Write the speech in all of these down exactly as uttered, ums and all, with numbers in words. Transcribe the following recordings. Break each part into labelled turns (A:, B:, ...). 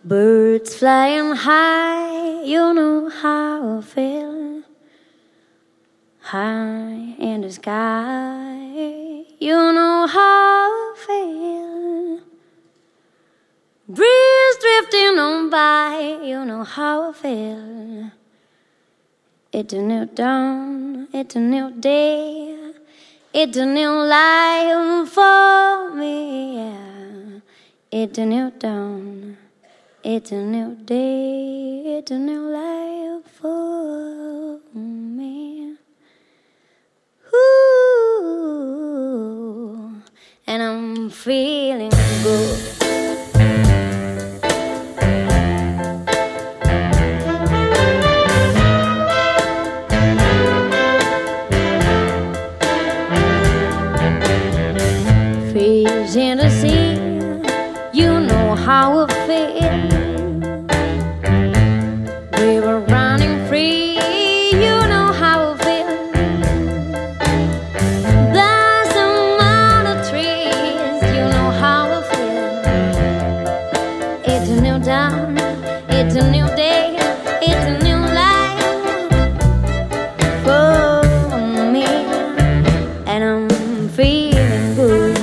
A: Birds flying high, you know how I feel. High in the sky, you know how I feel. Breeze drifting on by, you know how I feel. It's a new dawn, it's a new day, it's a new life for me, yeah. It's a new dawn, it's a new day, it's a new life for me. Ooh, and I'm feeling good. Fish in the sea, you know how I feel. We were running free, you know how I feel. Blossom on the trees, you know how I feel. It's a new dawn, it's a new day, it's a new life for me, and I'm feeling good.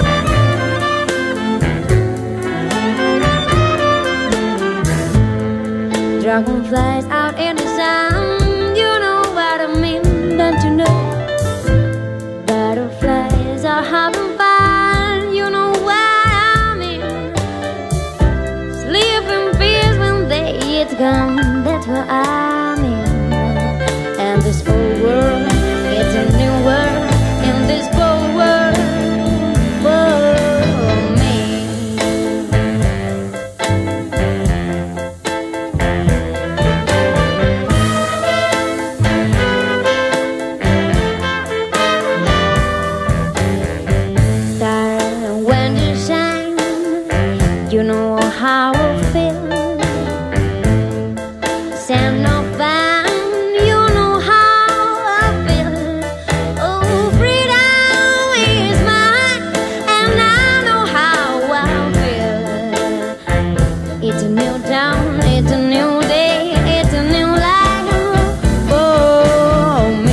A: Dragonflies out in the sun, you know what I mean, don't you know? Butterflies are having fun, you know what I mean. Sleep in peace when day is gone, that's what I mean. And this whole world, it's a new world, in this whole world for me. You know how I feel. Sand of van, you know how I feel. Oh, freedom is mine, and I know how I feel. It's a new dawn, it's a new day, it's a new life for me.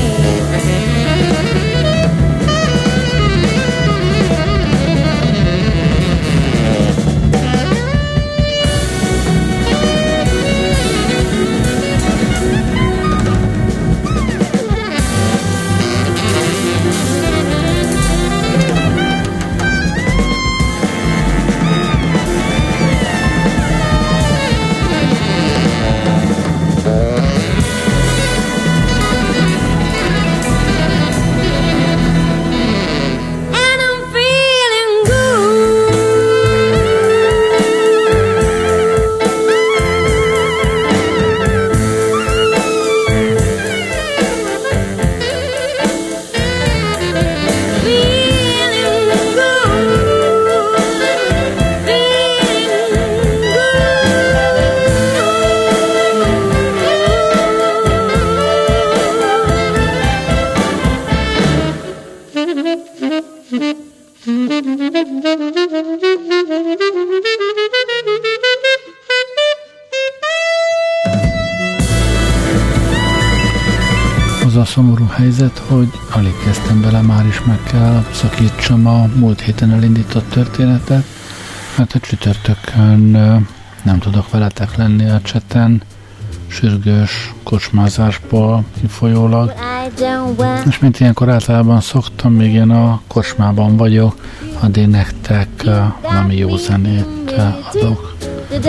B: Az a szomorú helyzet, hogy alig kezdtem bele, már is meg kell szakítsam a múlt héten elindított történetet, mert a csütörtökön nem tudok veletek lenni a cseten, sürgős kocsmázásból kifolyólag. És mint ilyenkor általában szoktam, még én a kocsmában vagyok, addig nektek valami jó zenét adok.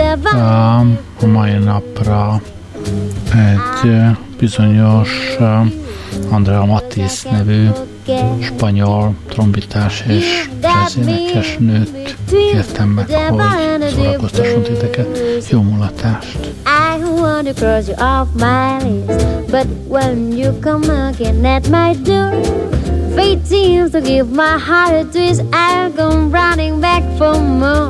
B: A mai napra egy bizonyos Andrea Matiz nevű spanyol trombitás és jazzénekes nőt kértem meg, hogy szórakoztasson titeket. Jó mulatást!
A: I want to cross you off my list, but when you come again at my door, fate seems to give my heart a twist. I'll come running back for more.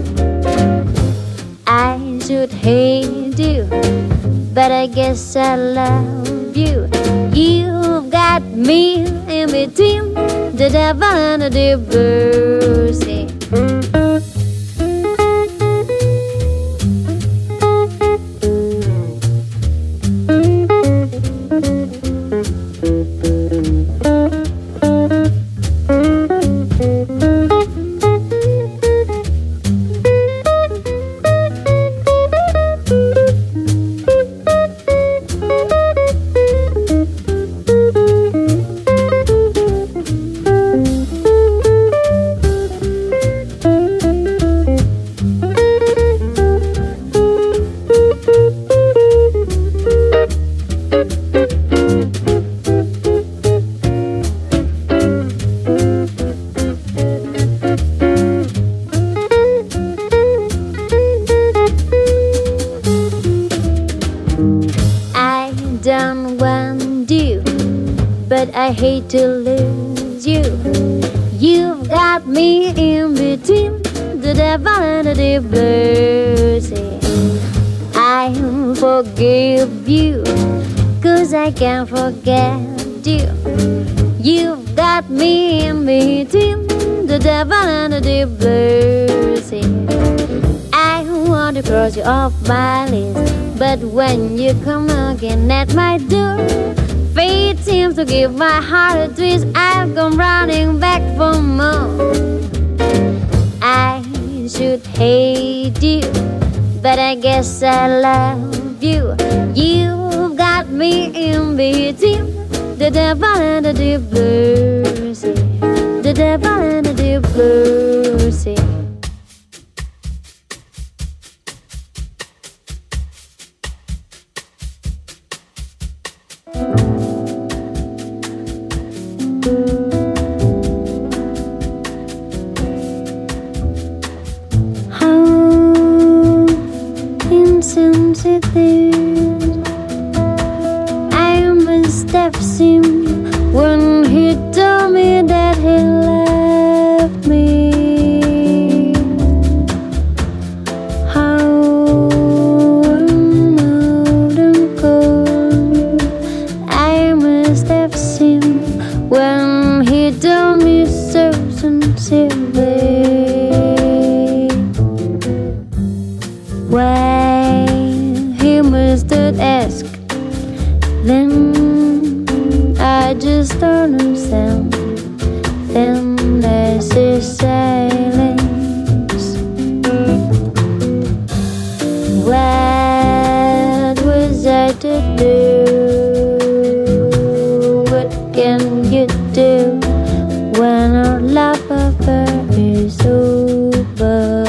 A: I should hate you, but I guess I love you. You've got me in between the devil and the divorce. but I hate to lose you. You've got me in between the devil and the deep blue sea. I forgive you, 'cause I can't forget you. You've got me in between the devil and the deep blue sea. I want to cross you off my list, but when you come again at my door, fate seems to give my heart a twist. I've gone running back for more. I should hate you, but I guess I love you. You've got me in between the devil and the deep blue sea. The devil and the deep blue sea. I must have seen when he told me that he left me. How old and cold I must have seen when he told me so sincerely. Why he must ask, then I just don't understand. Then there's his silence. What was I to do? What can you do when our love affair is over?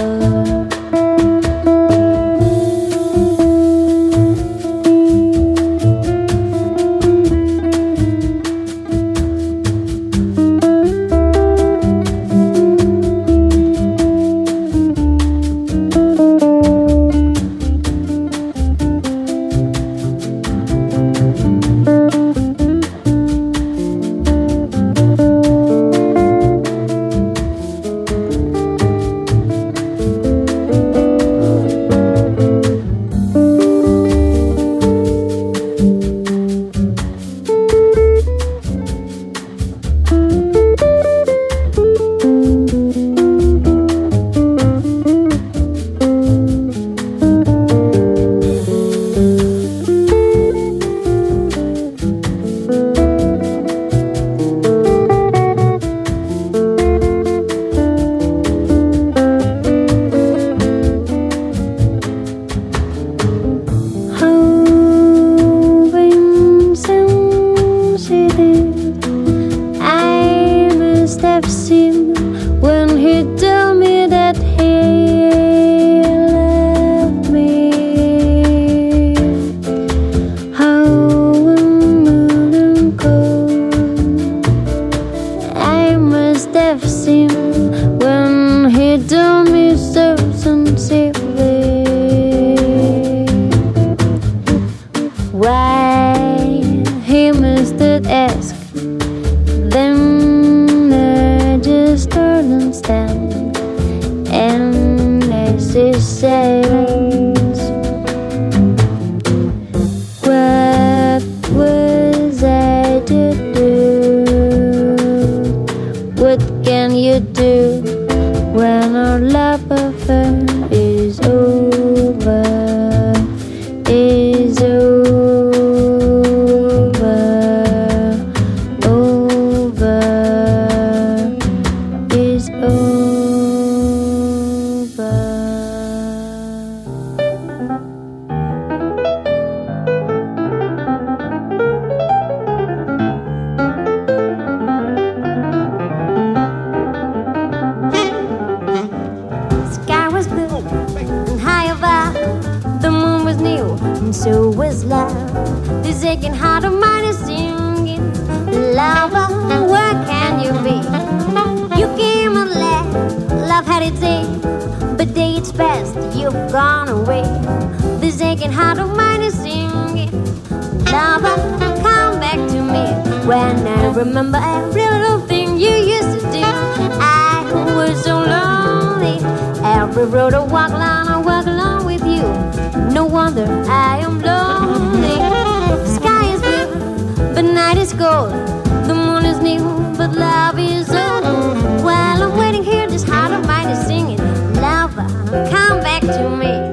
C: When I
A: remember every little thing you used to do. I was so lonely. Every road I walk along, I walk along with you. No wonder I am lonely. The sky is blue, but night is cold. The moon is new, but love is old. While I'm waiting here, this heart of mine is singing, lover, come back to me.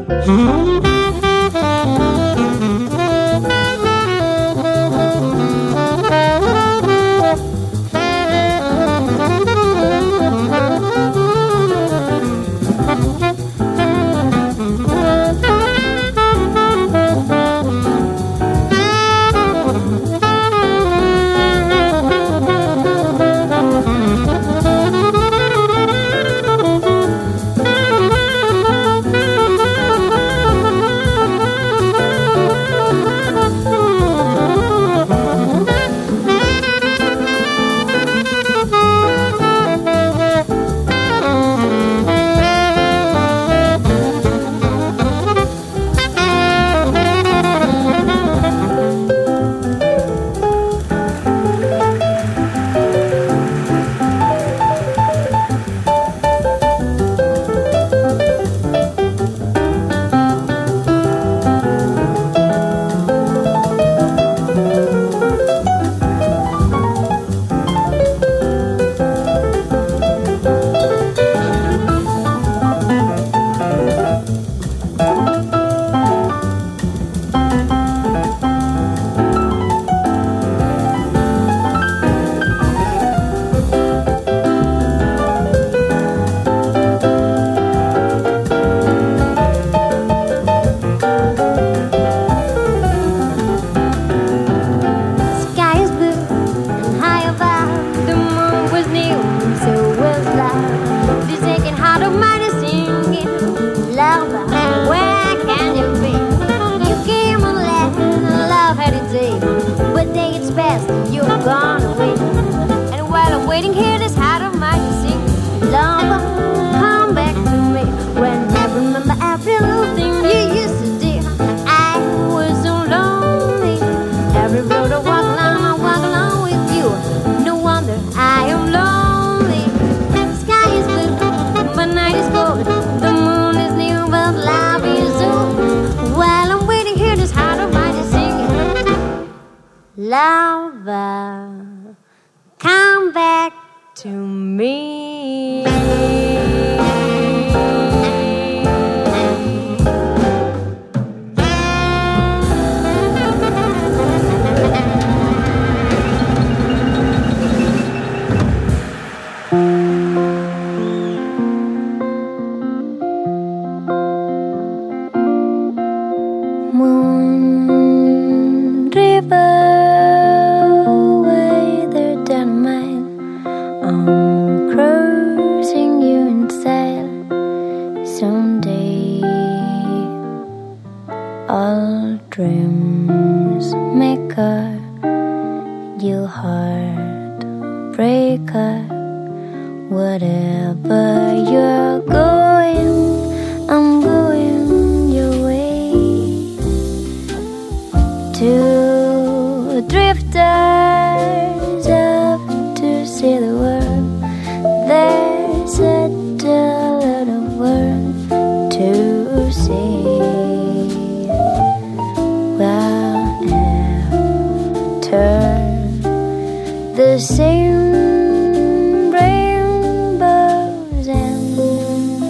A: Lover, come back to me. Moon River, dreams maker, you heartbreaker. Whatever you're going, I'm going your way. Two drifters up to see the world. There's a lot of world to see. The same rainbows and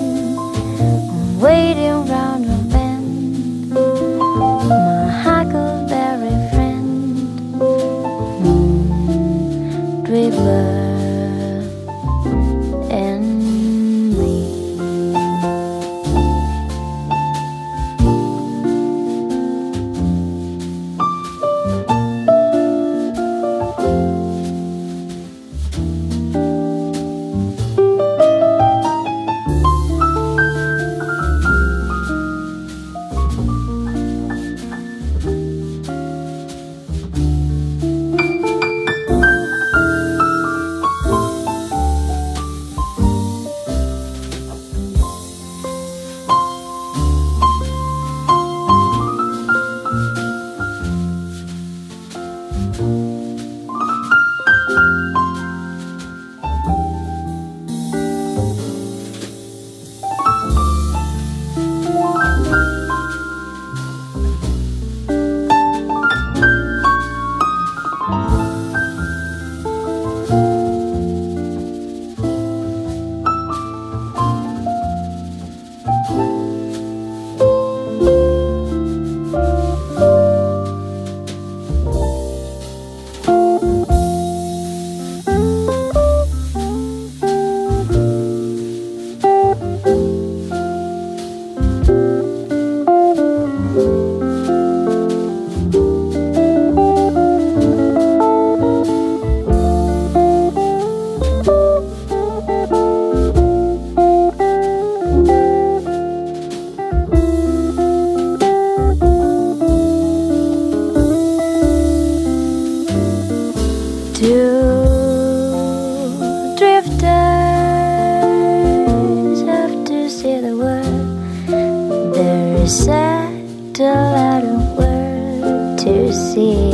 A: a lot of world to see.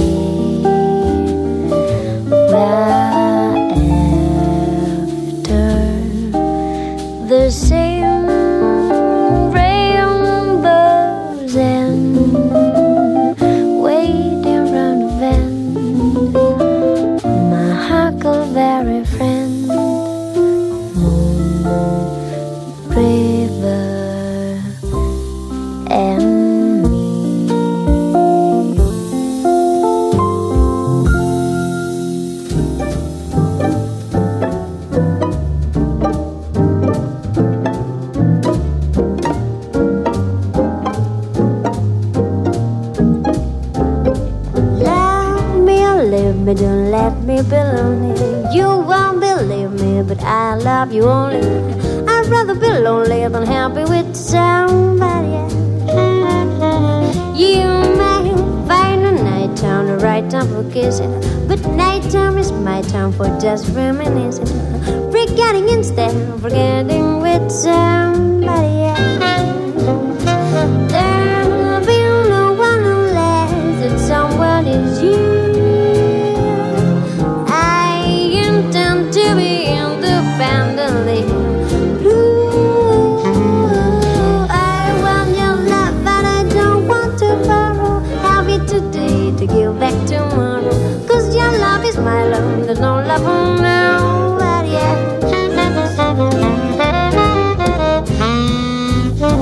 A: Well, after the same rainbows and waiting round the bend, my huckleberry friend, moon, river, and me. Love me or leave me, don't let me be lonely. You won't believe me, but I love you only. I'd rather be lonely than happy with somebody else. You may find a nighttime the right time for kissing, but nighttime is my time for just reminiscing, forgetting instead of forgetting with somebody else. There'll be no one unless that someone is you. I intend to be independently blue. I want your love, but I don't want to borrow. Have it today to give back tomorrow. Cause your love is my love, there's no love for now, but yeah.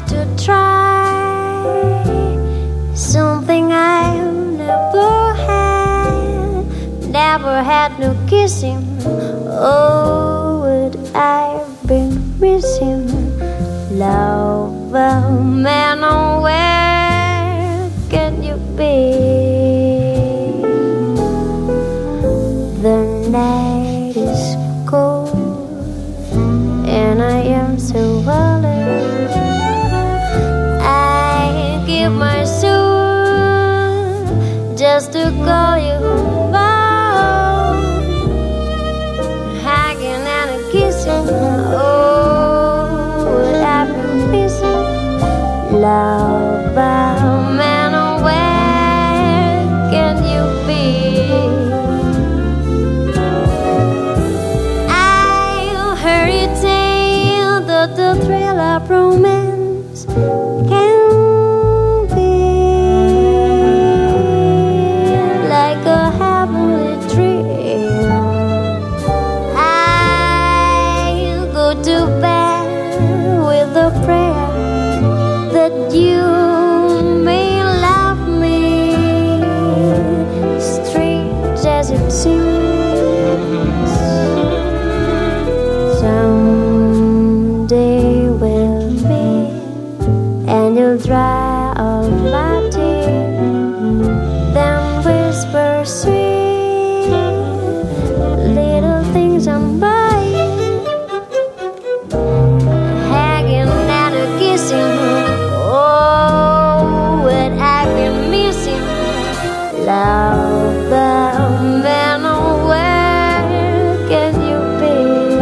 A: to try something I've never had. Never had no kissing. Oh, would I've been missing love, man, oh, where can you be? The night is cold and I am so alone. I give my soul just to call you home. Hugging and a kissing. Oh, what I've been missing. Love, man, oh, where can you be? I'll hurry tale that the thrill of romance can be like a heavenly dream. I'll go to bed with a prayer that you may love me, strange as it seems. Someday we'll meet and you'll dry all my tears, then whisper sweet little things I'm buying, hugging and a kissing. Oh, what I've been missing. Love, the man, oh, where can you be?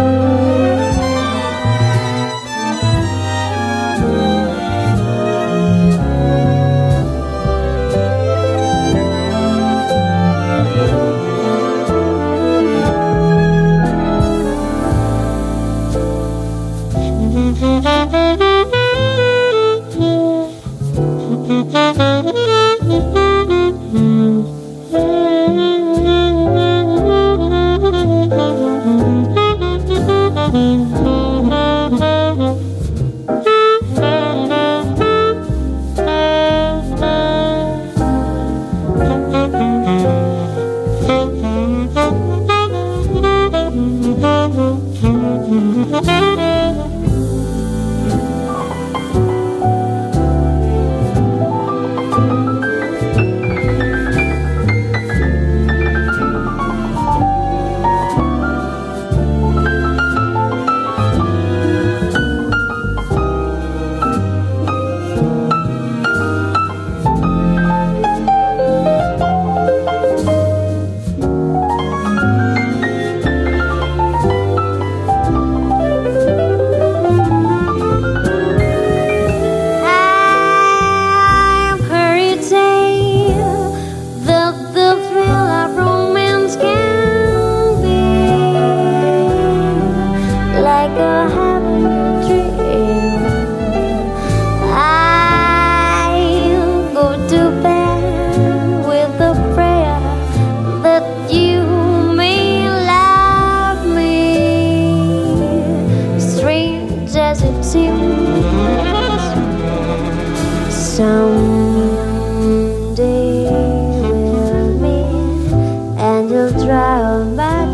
A: Someday we'll meet and you'll dry all my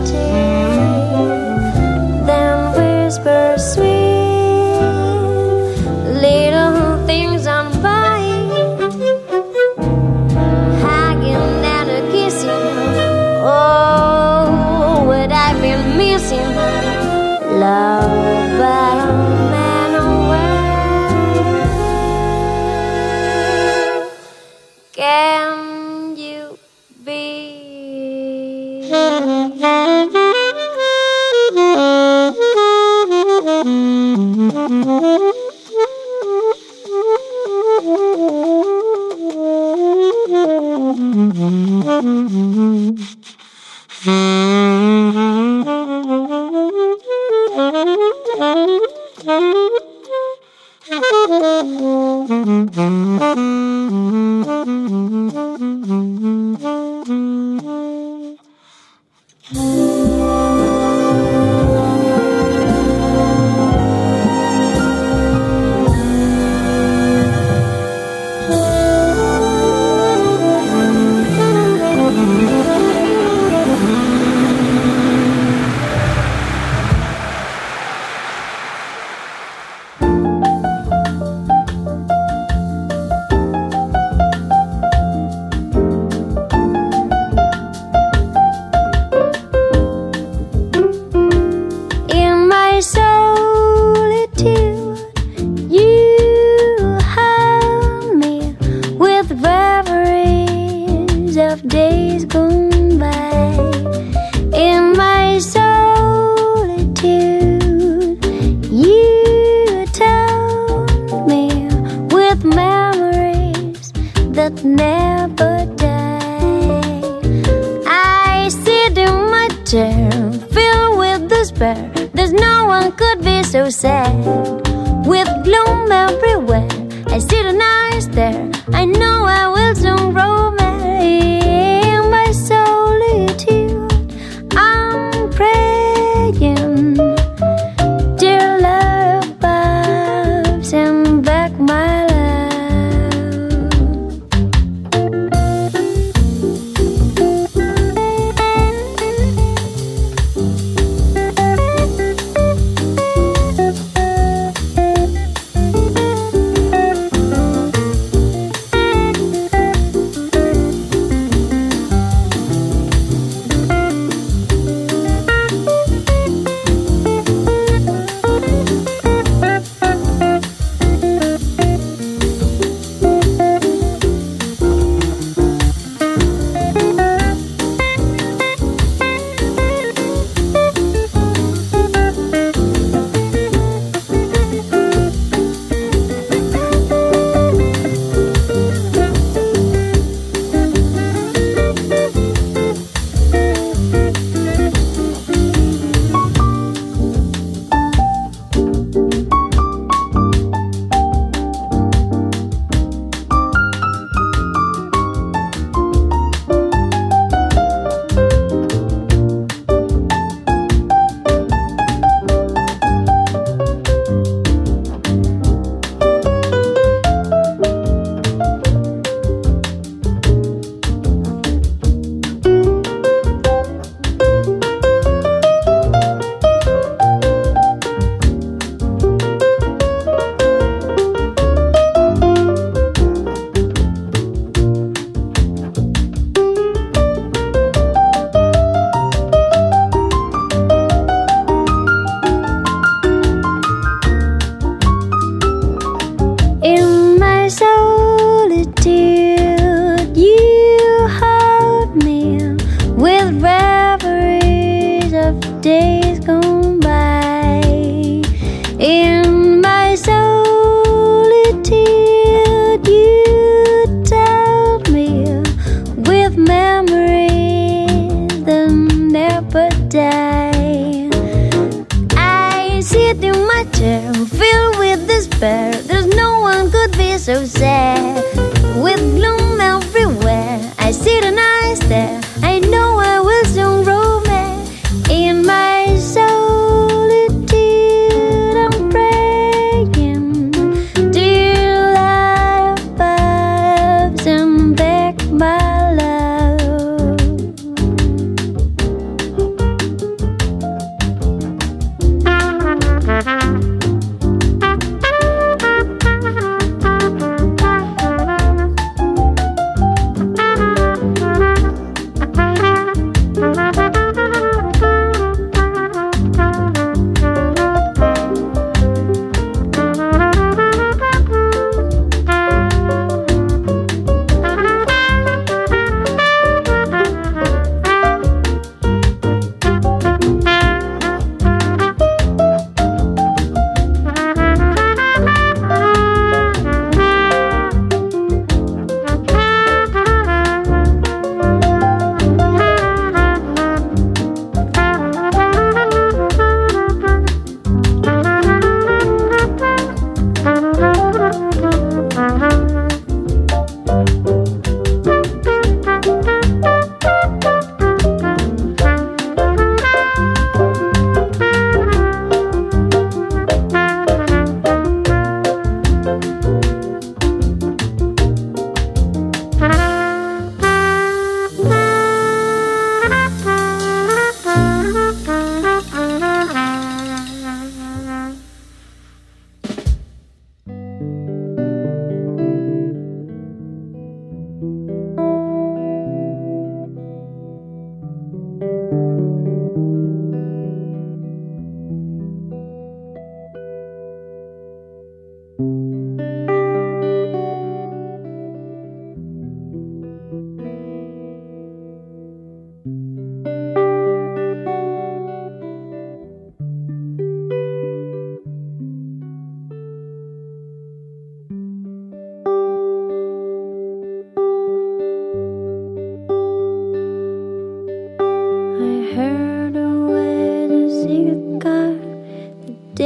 A: tears, then whisper sweet little things I'm buying, hugging and a kissing. Oh, what I've been missing. Love, man, oh, where can you be? that never die. I sit in my chair, filled with despair. There's no one could be so sad. With gloom everywhere, I sit and I stare. I know I will soon grow mad. In my solitude, I'm praying. Dear love, above, send back my love. Days gone by. In my solitude, you told me with memories that never die. I sit in my chair, filled with despair. There's no one could be so sad. With gloom everywhere, I sit and I stare. I know I will soon grow mad. In my solitude, I'm praying. Dear love, above, send back my love.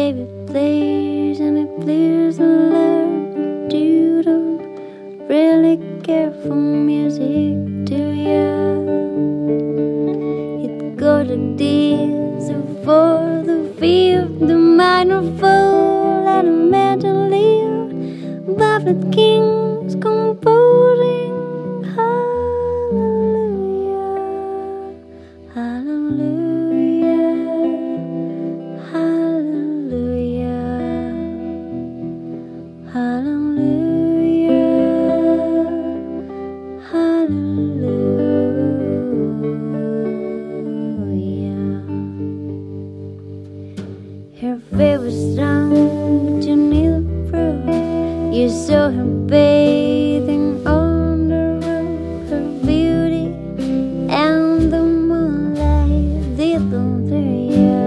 A: baby plays and it plays the love. You don't really care for music, do ya? It got a days for the fifth, the minor fall and a medley of Buffett Kings composing. Hallelujah, hallelujah, hallelujah, hallelujah, hallelujah. Her favorite song, but you need proof. You saw her bathing on the roof, her beauty and the moonlight did them through you.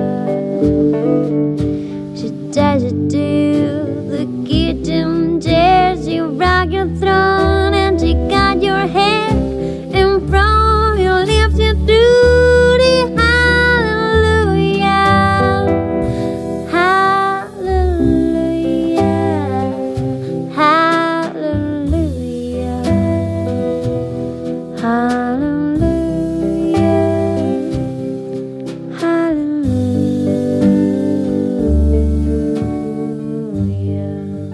A: She ties you to the kitchen chair, she rocked your throne and she got your head in front, you lift you to the hallelujah, hallelujah, hallelujah, hallelujah, hallelujah.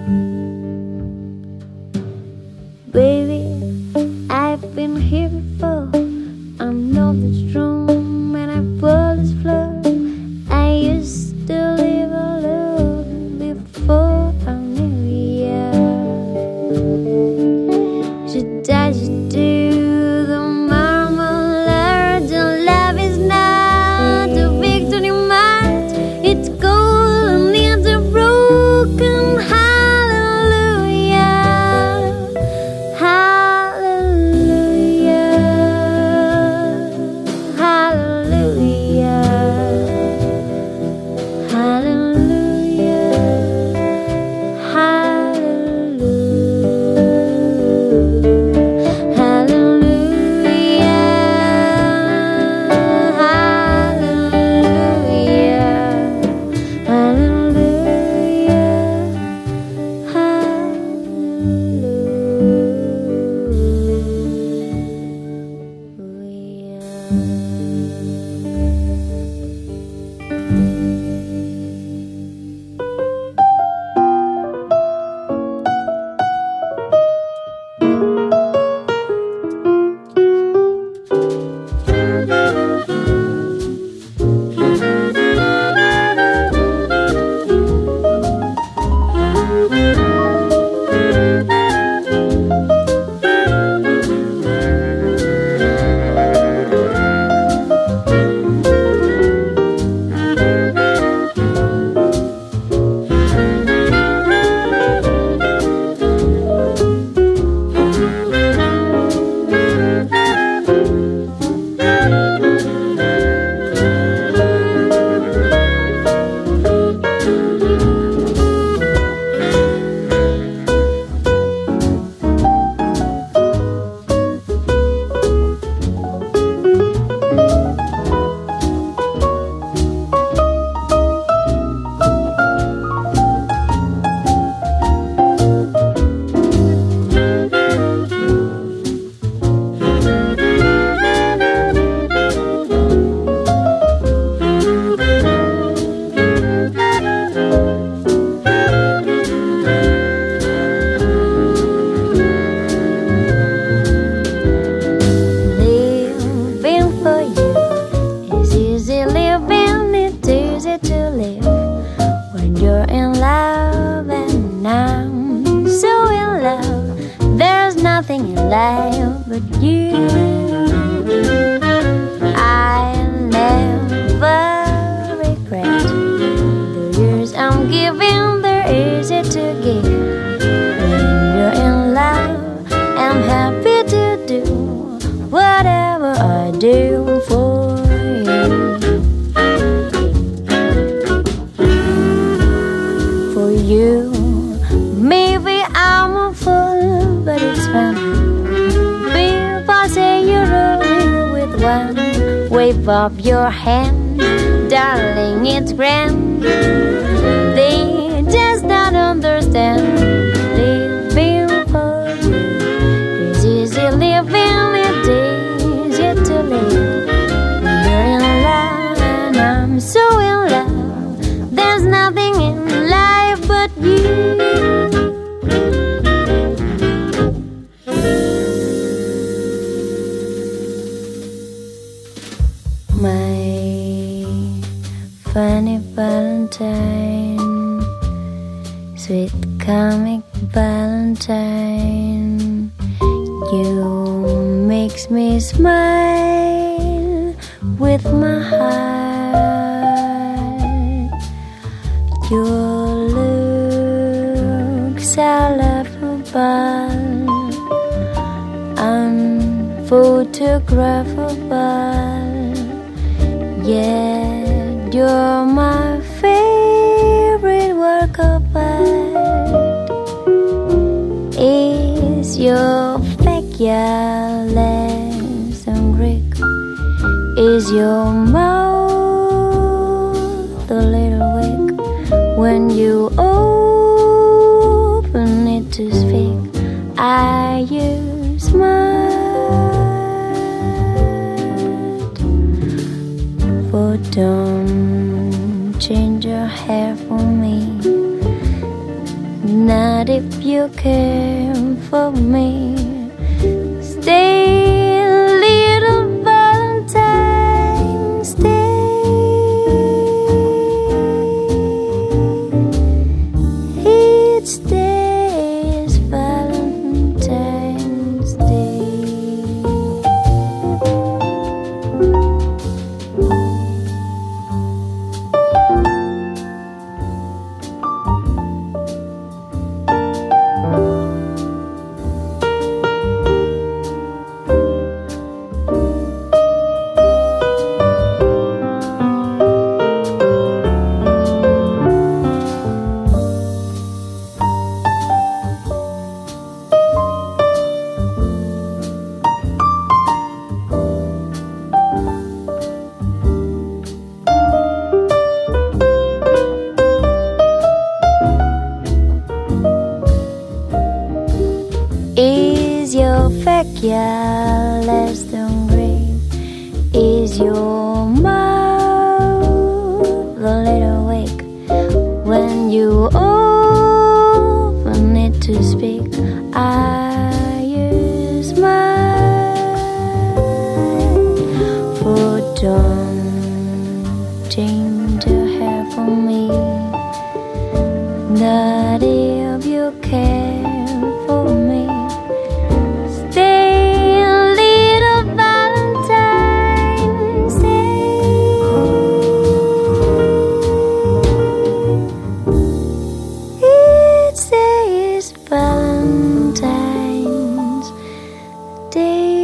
A: Baby, I've been here before. I know this room and I pull this floor. I used to live alone before I knew ya. She ties you to the marmalade. Your love is not a victory march. It's cold and it's a broken hallelujah, hallelujah, hallelujah, hallelujah, hallelujah, hallelujah, life but you. I never regret the years I'm giving. They're easy to give. When you're in love, I'm happy to do whatever I do for you. For you, maybe I'm a fool, but it's fun. People say you're rolling with one wave of your hand, darling, it's grand. understand. Living for you is easy living, it is easy to live. You're in love and I'm so in love. There's nothing in life but you. My funny Valentine, sweet comic Valentine, you makes me smile with my heart. Your looks are laughable, unphotographable. Yeah, you're my favorite work of art. Is your figure less than Greek? Is your mouth a little weak when you open it to speak? Are you smart? For don't change your hair for me, not if you care for me. Stay, little Valentine, stay. Each day is Valentine's Day. Is your figure less than Greek? Is your mouth a little weak when you open it to speak? Are you smart? For don't change your hair for me, not if you care for me. Valentine's Day.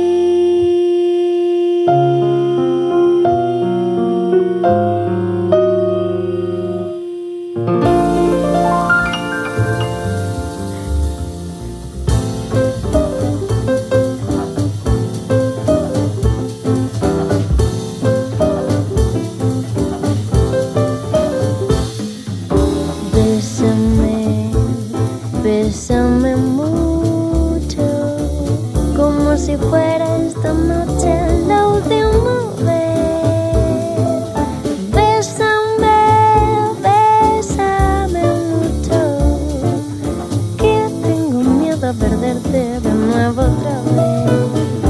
A: Bésame, bésame mucho, como si fuera esta noche la última vez. Bésame, bésame mucho, que tengo miedo a perderte de nuevo otra vez.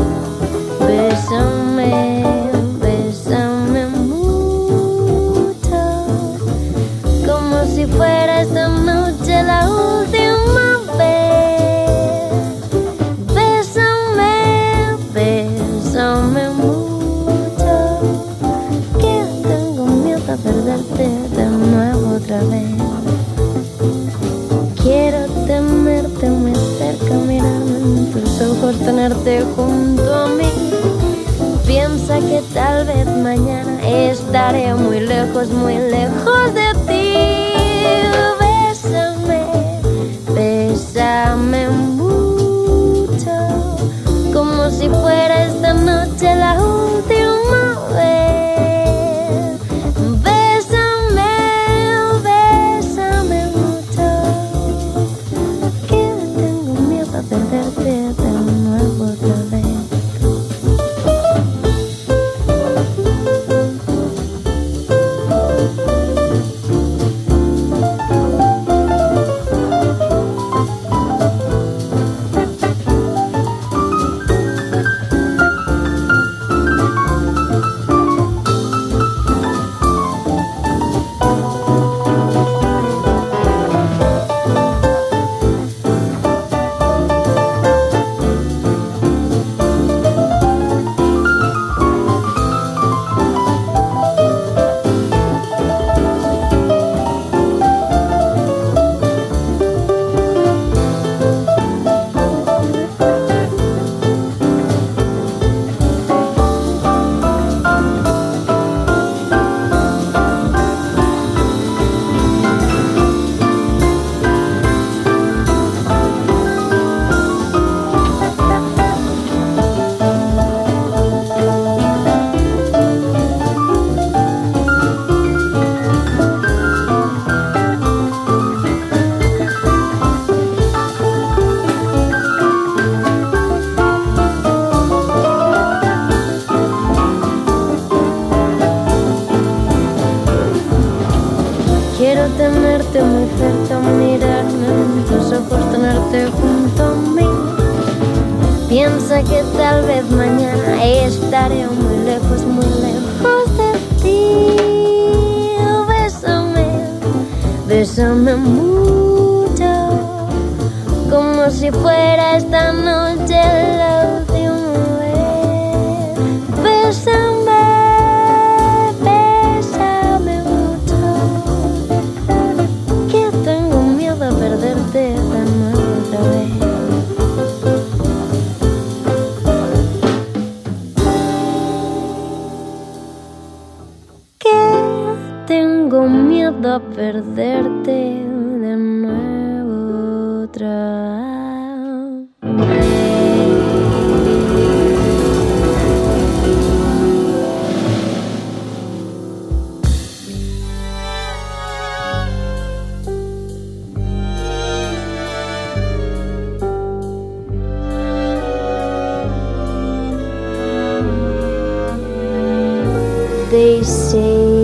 A: Bésame, bésame mucho, como si fuera esta noche la última vez. Bésame, bésame mucho, que tengo miedo a perderte de nuevo otra vez. Quiero tenerte muy cerca, mirarme en tus ojos, tenerte junto a mí. Piensa que tal vez mañana estaré muy lejos, muy lejos de ti. Bésame, bésame mucho, como si fuera esta noche la última vez. Bésame, bésame mucho, a perderte de nuevo otra vez. Tenerte muy cerca, mirarme en tus ojos, tenerte junto a mí. Piensa que tal vez mañana estaré muy lejos, muy lejos de ti. Bésame, bésame mucho, como si fuera esta noche la última vez. Bésame. A perderte de nuevo otra vez. They say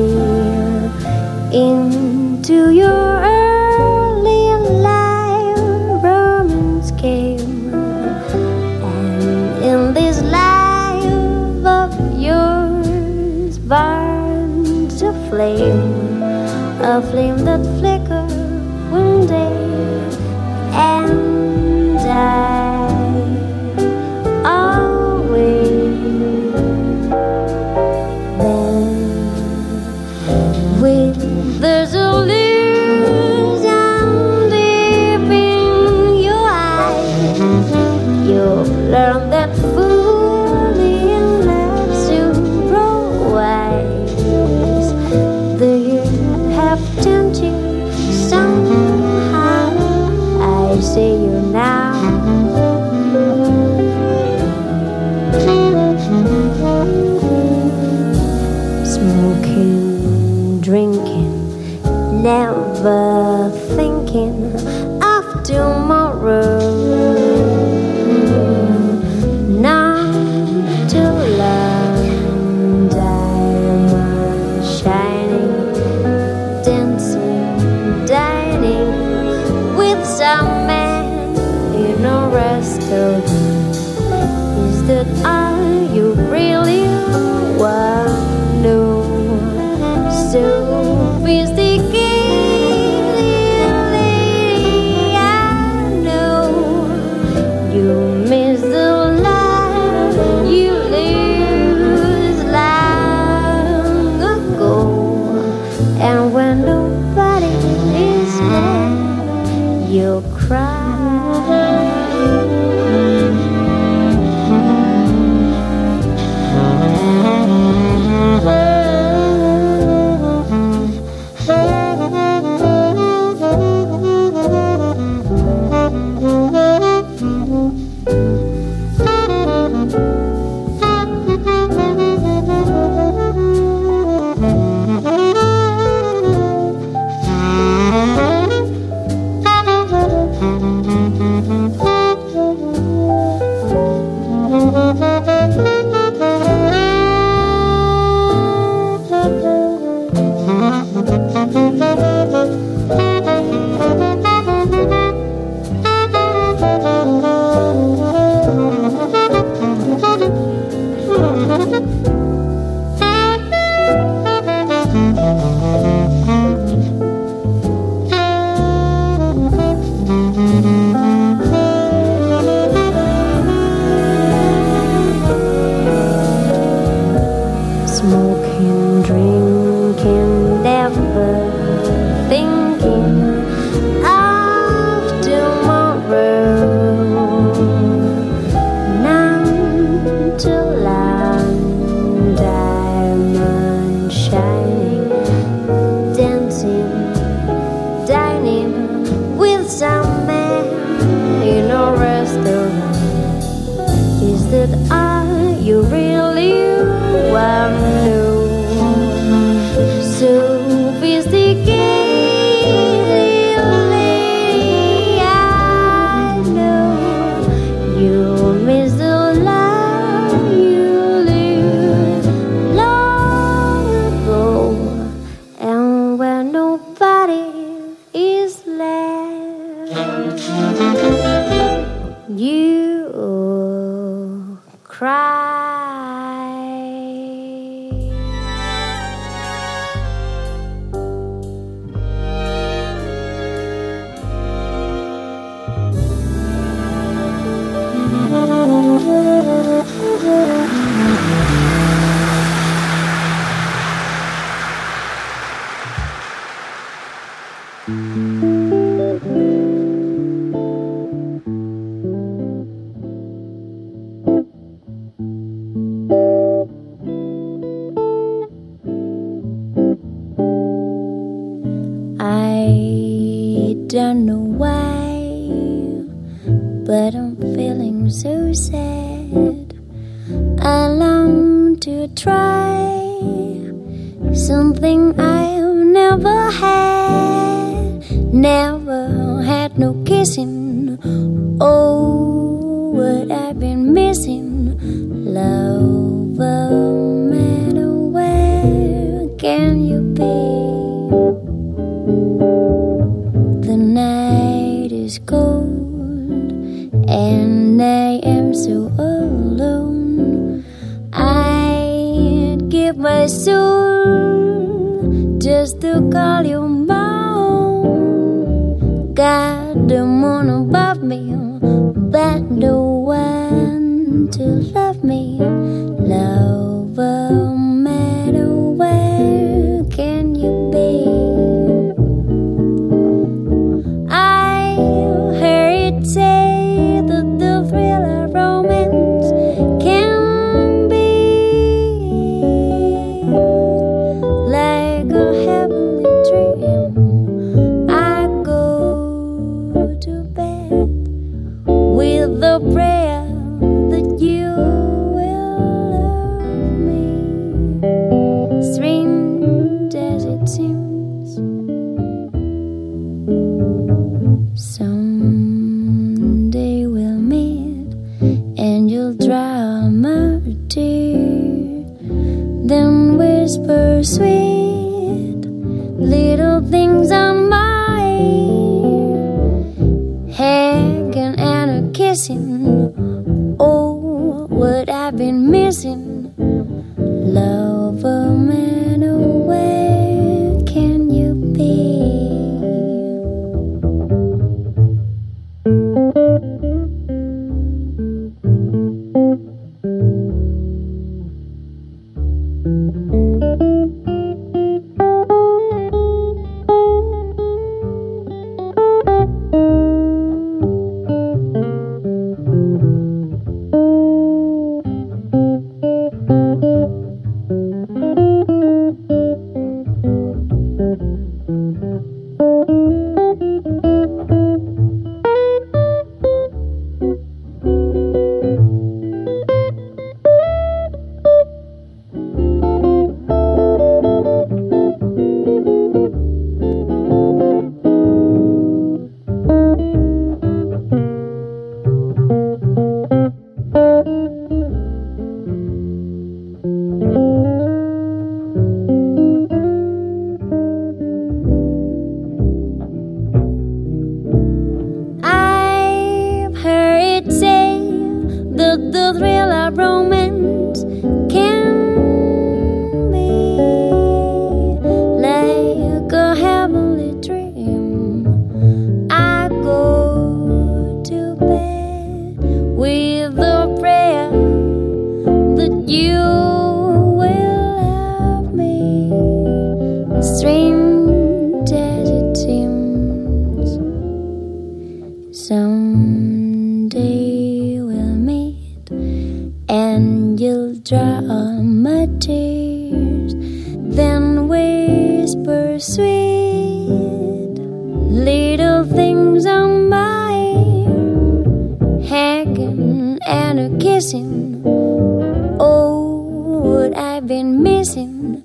A: into your early life romance came, and in this life of yours burns a flame, a flame that flickered one day, and I always there's a illusion deep in your eyes. You've learned that fully in love soon grow wise. The years have turned you somehow. I see you now. Smoking, drinking, never thinking of tomorrow. Not to love, diamond shining, dancing, dining with some man in a restaurant. Is that all you really want? No. Sophisticated lady, I know you miss the life you lived long ago. And when nobody is there, you'll cry. cry. I don't know why, but I'm feeling so sad. I long to try something I've never had. Never had no kissing. Oh, what I've been missing. Love, no matter where can you be? The night is cold and I am so alone. I'd give my soul just to call you mine. God, the moon above me, but the one to love me. Love, no matter where can you be? Say that the thrill of romance can be like a heavenly dream. I go to bed with the prayer that you will love me, strange as it seems. Some and you'll dry my tear, then whisper sweet little things on my ear, hanging and a kissing. Oh, what I've been missing. Love, no matter where can you be? Someday we'll meet and you'll dry all my tears, then whisper sweet little things on my ear, hanging and a kissing. Oh, what I've been missing.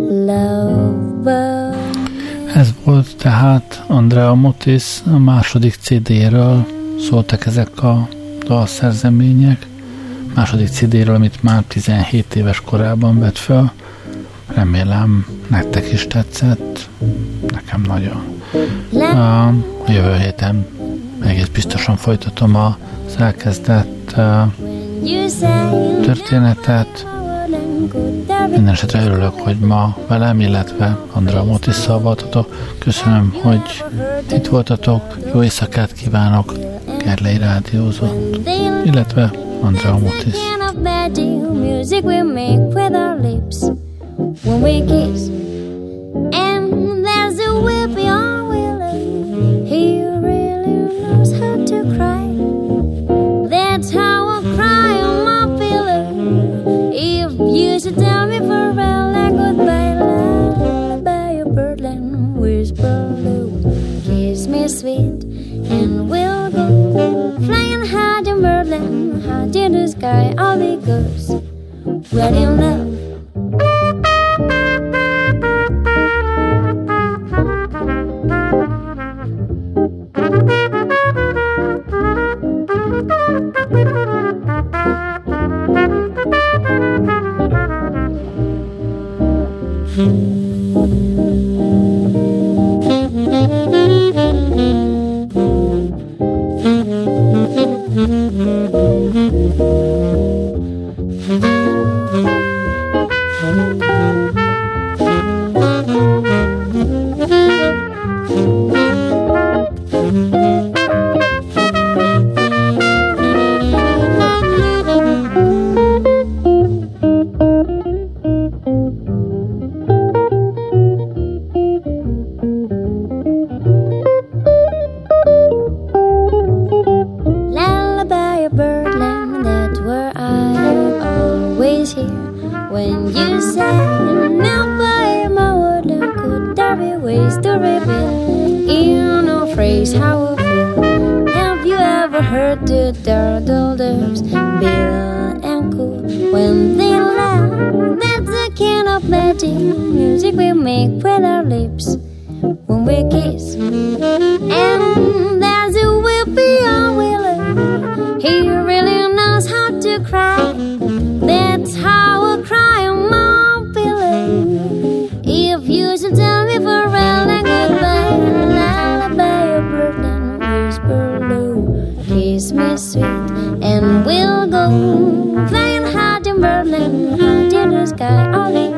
A: Love, but
B: ez volt tehát Andrea Mutis a második cé dé-ről szóltak ezek a dalszerzemények. Második cé dé-ről, amit már tizenhét éves korában vett föl. Remélem nektek is tetszett. Nekem nagyon. A jövő héten egész biztosan folytatom az elkezdett ezt a történetet. Minden esetre örülök, hogy ma velem, illetve Andrea Motisszal voltatok. Köszönöm, hogy itt voltatok. Jó éjszakát kívánok, Gerlei rádiózott, illetve Andrea Motis. Music we make with our lips when we kiss, and there's a whip beyond willow. He really knows how to cry. That's how I cry on my pillow. If you should tell me farewell and goodbye, lullaby a birdland whisper low. Kiss me sweet, and we'll go flying high in birdland, high in the sky. All the girls well in love. Music we make with our lips when we kiss, and there's a whip beyond willow. He really knows how to cry. That's how I cry on my pillow. If you should tell me farewell and goodbye, lullaby a birdland whisper low. Kiss me sweet, and we'll go flying high in birdland, high in the sky. All